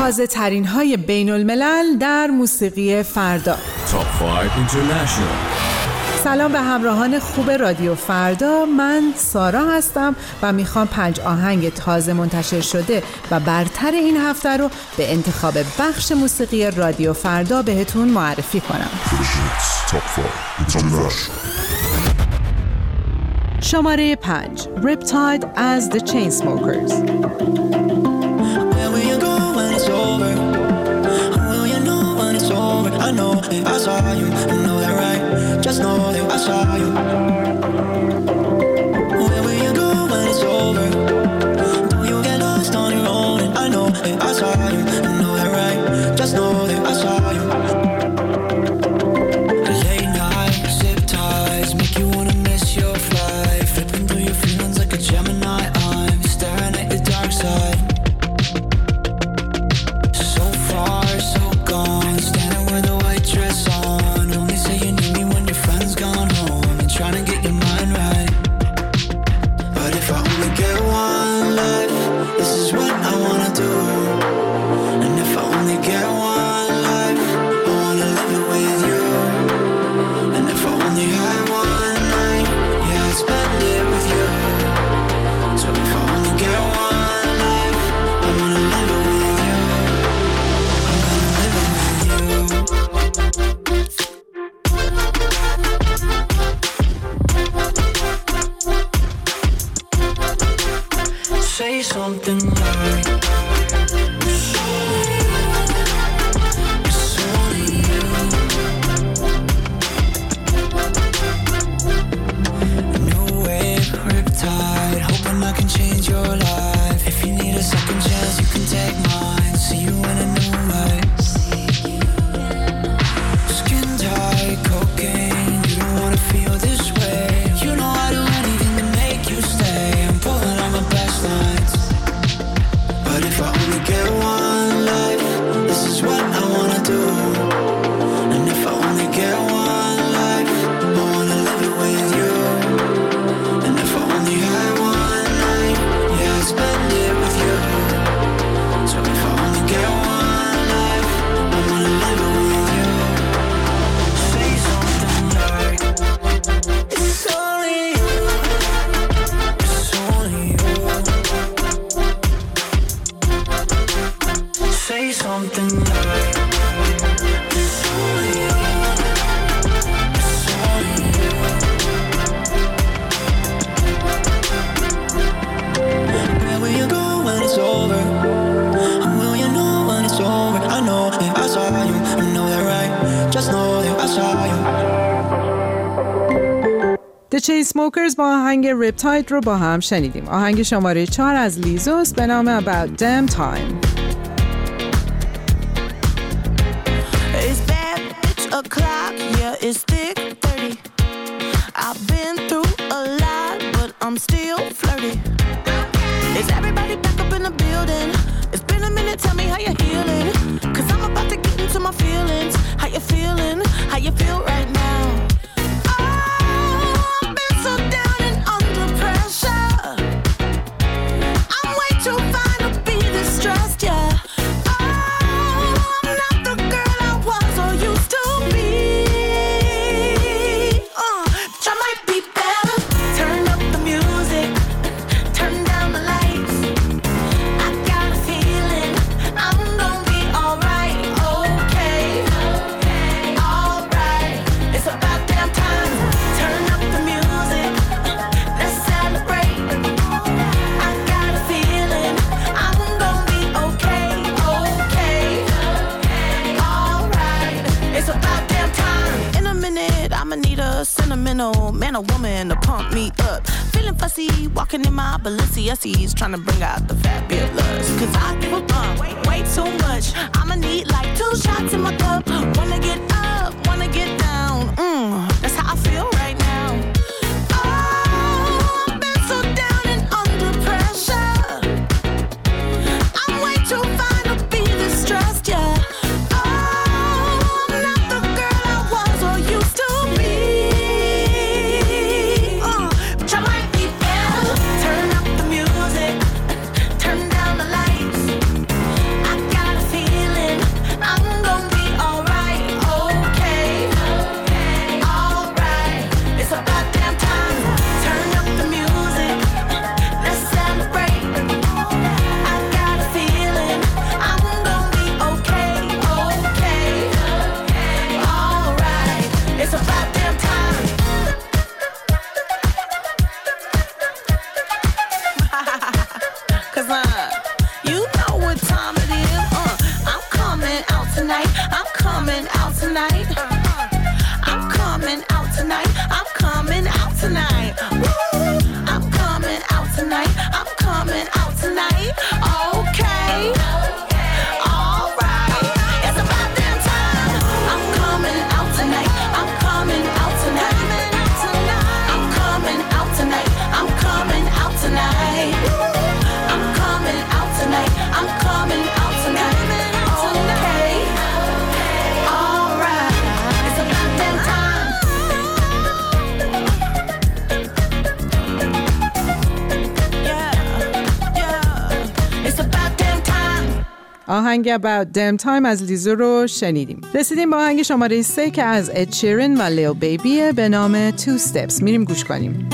تازه ترین های بین الملل در موسیقی فردا. Top 5 International. سلام به همراهان خوب رادیو فردا، من سارا هستم و میخوام 5 آهنگ تازه منتشر شده و برتر این هفته رو به انتخاب بخش موسیقی رادیو فردا بهتون معرفی کنم. شماره 5 Riptide از The Chainsmokers. I know I saw you, you know that right? Just know that I saw you. Where will you go when it's over? Don't you get lost on your own? And I know that I saw you, you know that right? Just know that I saw you. Late night, zip ties, make you wanna miss your flight. Flipping through your feelings like a Gemini. I'm staring at the dark side. So far, so gone, standing with a white dress on. Only say you need me when your friend's gone home, and trying to get your mind right. But if I only get one life, this is what I wanna do. And if I only get one life, I wanna live it with you. And if I only had one night, yeah, I'd spend it with you. So if I only get one life, I wanna live it with you. I'm gonna live it with you. Say something like it's only you. New wave, riptide, hoping I can change your life. If you need a second chance, you can take mine. See you in a new light. Skin tight, cocaine, you don't wanna feel this way. You know I'd do anything to make you stay. I'm pulling on my best lines. But if I only get one life, this is what I wanna do. And if I only get one life, I wanna live it with you. And if I only had one night, yeah, I'd spend it with you. So if I only get one life, I wanna live it with you. Say something like it's only you. It's only you. Say something like it's only you. It's only you. Where will you go when it's over? And will you know when it's over? I know that I saw you, you know that right? Just know that I saw you. The Chainsmokers با آهنگ Riptide رو با هم شنیدیم. آهنگ شماره 4 از لیزوس به نام About Damn Time. It's bad bitch o'clock, yeah, it's thick 30. I've been through a lot, but I'm still flirty. Is everybody back up in the building? It's been a minute, tell me how you're healing. Cause I'm about to get into my feelings. How you feeling? How you feel right now? Oh, I've been so down and under pressure. I'm way too fine to be distressed, yeah. Sentimental man or woman to pump me up. Feeling fussy, walking in my Balenciennes, trying to bring out the fabulous. Cause I give a bump, way too much. I'ma need like 2 shots in my cup. Wanna get up, wanna get down. That's how I feel right now. Oh, I've been so down and under pressure. I'm way too fine to be distressed, yeah. Turn up the music, turn down the lights. I got a feeling. tonight. I'm coming out tonight. I'm coming out tonight. Woo! I'm coming out tonight. I'm coming out tonight. Okay. All right. It's about damn time. I'm coming out tonight. I'm coming out tonight. I'm coming out tonight. I'm coming out tonight. I'm coming out tonight. I'm coming out tonight. Okay. All right. It's about damn time. Yeah. It's about damn time. آهنگ About Damn Time از لیزو رو شنیدیم. رسیدیم به آهنگ شماره 3 که از اد شیرین و لیو بیبیه به نام Two Steps. میریم گوش کنیم.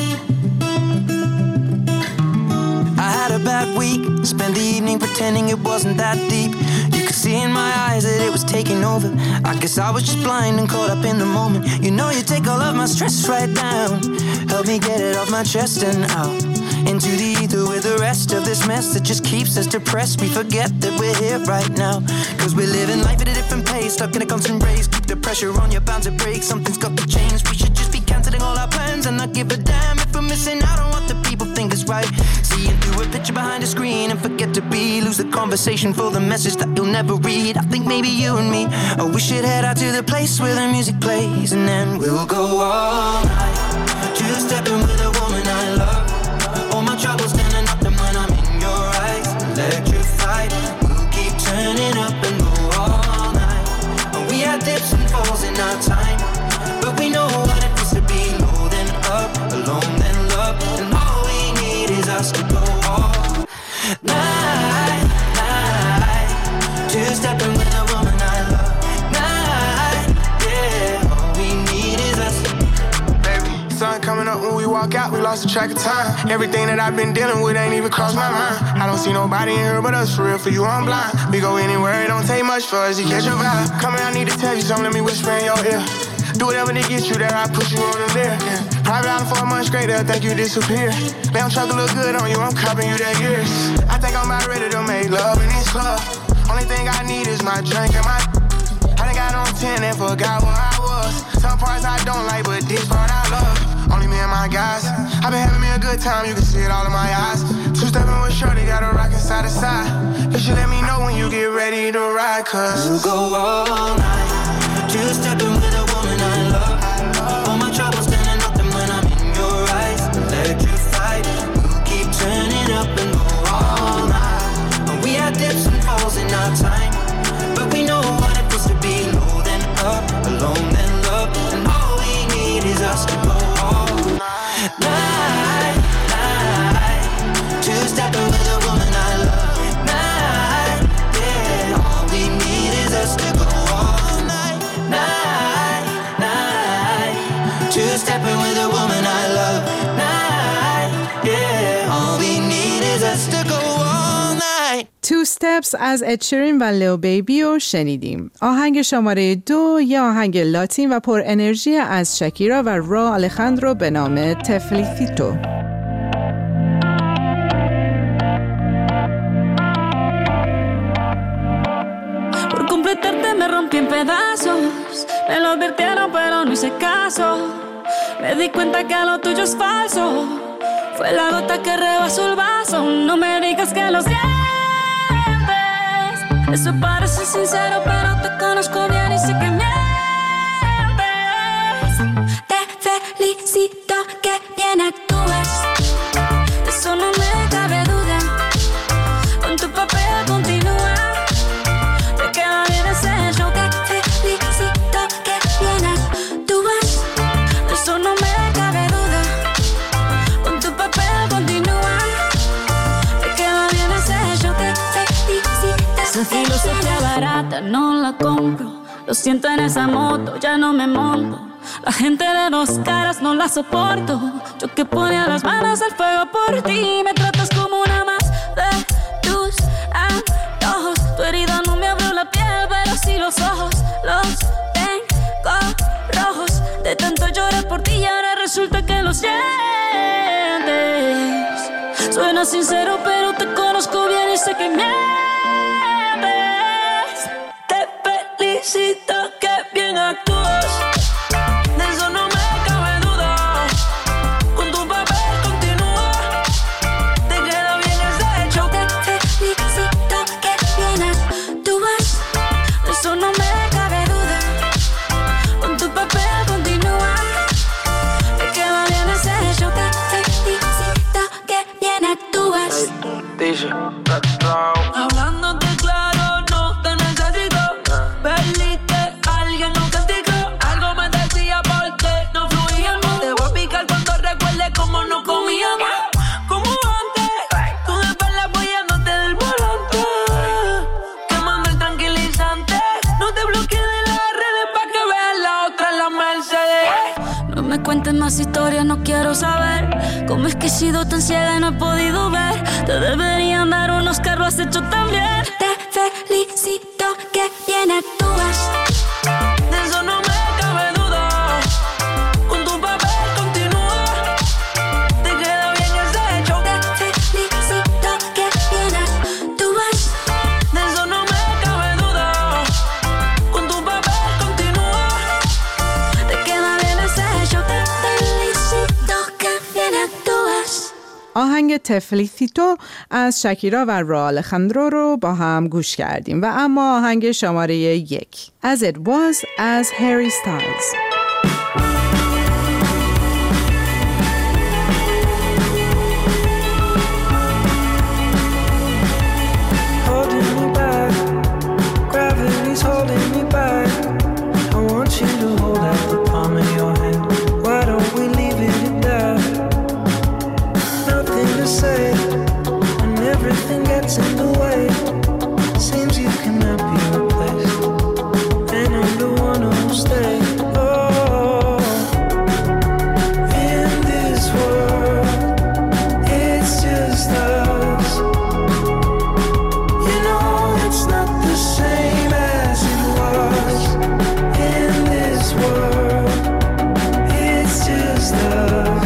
I had a bad week, spent the evening pretending it wasn't that deep. You could see in my eyes that it was taking over. I guess I was just blind and caught up in the moment. You know you take all of my stress right down. Help me get it off my chest and out into the ether with the rest of this mess that just keeps us depressed. We forget that we're here right now, cause we're living life at a different pace, stuck in a constant race. Keep the pressure on, you're bound to break. Something's got to change. We should just be cancelling all our plans and not give a damn if we're missing out on what the people think is right. Seeing through a picture behind a screen and forget to be. Lose the conversation for the message that you'll never read. I think maybe you and me, oh, we should head out to the place where the music plays, and then we'll go all night, two-stepping with a woman I love. All my troubles standing up and when I'm in your eyes, electrified. We'll keep turning up and go all night. And we had dips and falls in our time, but we know what it is to be low then up, alone then love. And all we need is us to go all night, night. Two-stepping with a woman I love. Night, yeah. All we need is us. Baby, sun coming up when we walk out, we lost the track of time. Everything that I've been dealing with ain't even crossed my mind. I don't see nobody in here but us, for real, for you I'm blind. We go anywhere, it don't take much for us to catch your vibe. Come here, I need to tell you something, let me whisper in your ear. Do whatever to get you there, I push you on the there. Yeah. Private island for a month straight, they'll think you disappear. Damn truck look good on you, I'm copping you that years. I think I'm about ready to make love in this club. Only thing I need is my drink and my I done got on 10 and forgot where I was. Some parts I don't like, but this part I love. Only me and my guys. I've been having me a good time, you can see it all in my eyes. Two-stepping with shorty, got a rockin' side to side. You should let me know when you get ready to ride, cause we'll go all night, two-stepping with a woman I love. All my troubles standing up and when I'm in your eyes, electrified. We'll keep turning up and go all night. And we had dips and falls in our time, but we know what it feels to be low then up, alone then love. And all we need is us to go all night, night. Two-stepping with a woman I love. Night, yeah. All we need is us to go all night, night, night. Two-stepping with a woman I love. Night, yeah. All we need is us to go all night. Two Steps از اد شیرین و لیو بیبی رو شنیدیم. آهنگ شماره 2 یه آهنگ لاتین و پر انرژی از شکیرا و را الخاندرو به نام تفلیتیتو. Me rompí en pedazos, me lo advirtieron pero no hice caso. Me di cuenta que lo tuyo es falso, fue la gota que rebasó el vaso. No me digas que lo sientes, eso parece sincero pero te conozco bien y sé que mientes. Te felicito que bien actúas, de eso no me cabe duda. Con tu papel continúa. Filosofía barata, no la compro. Lo siento en esa moto, ya no me monto. La gente de dos caras no la soporto. Yo que ponía las manos al fuego por ti. Me tratas como una más de tus antojos. Tu herida no me abrió la piel, pero sí los ojos. Los tengo rojos. De tanto llorar por ti y ahora resulta que lo sientes. Suena sincero, pero te conozco bien y sé que mientes. Felicito que bien Hablándote claro, no te necesito. Perdiste, alguien nos castigó. Algo me decía porque no fluíamos. Te voy a picar cuando recuerdes cómo nos comíamos. Como antes, tú de espalda apoyándote del volante. Quemando el tranquilizante. No te bloquees de las redes pa' que veas la otra en la Mercedes. No me cuentes más historias, no quiero saber cómo es que he sido tan ciega y no he podido ver. Te deberían dar un Oscar, lo has hecho tan bien. Te felicito, que bien actúas. De eso no me cabe duda. Con tu papel continúa. Te queda bien ese hecho. Te felicito, que bien actúas. De eso no me cabe duda. Con tu papel continúa. Te queda bien ese hecho. Te felicito, que bien actúas. آهنگ تفلیتیتو از شکیرا و را الخندرو رو با هم گوش کردیم و اما آهنگ شماره 1 As It Was از هری ستایلز. Holding me back, gravity's holding me back. I want you to hold out the palm of your hand. Why don't we leave it at that? Nothing to say when everything gets in the way. Seems you cannot be replaced, and I'm the one who'll stay. Oh, in this world, it's just us. You know it's not the same as it was. In this world, it's just us.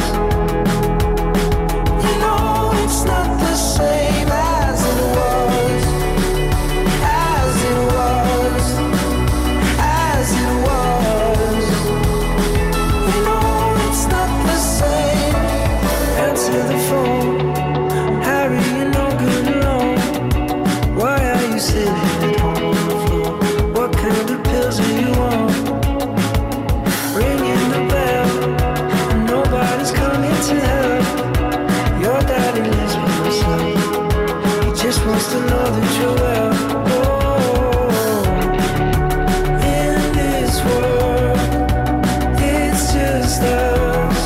You know it's not the same as it was. As it was. As it was. You know it's not the same. Answer the phone. Harry, you're no good alone. Why are you sitting at home on the floor? What kind of pills are you on? Ringing the bell, and nobody's coming to help. Your daddy lives by himself. He just wants to know that you're well. Oh, in this world, it's just us.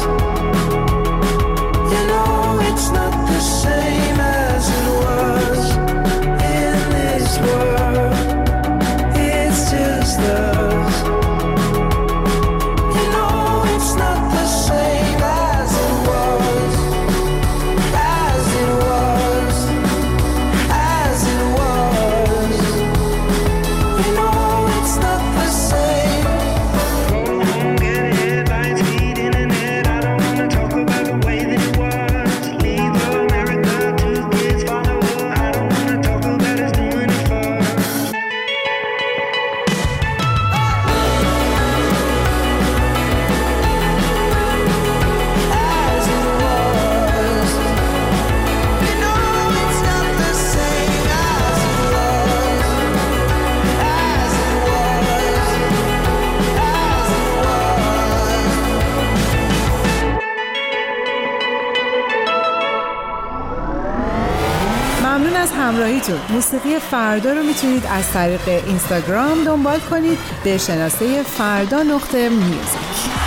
You know it's not the same as it was. In this world, it's just us. You know it's not the same as it was. As it was. As it was. You know it's not the same. Get headlines, feed internet. I don't wanna talk about the way that it was. Leave America, 2 kids follow her. I don't wanna talk about us doing it first. As it was. You know it's not the same as it was. As it was. As it was. ممنون از همراهیتون. موسیقی فردا رو میتونید از طریق اینستاگرام دنبال کنید به شناسه فردا_میوزیک.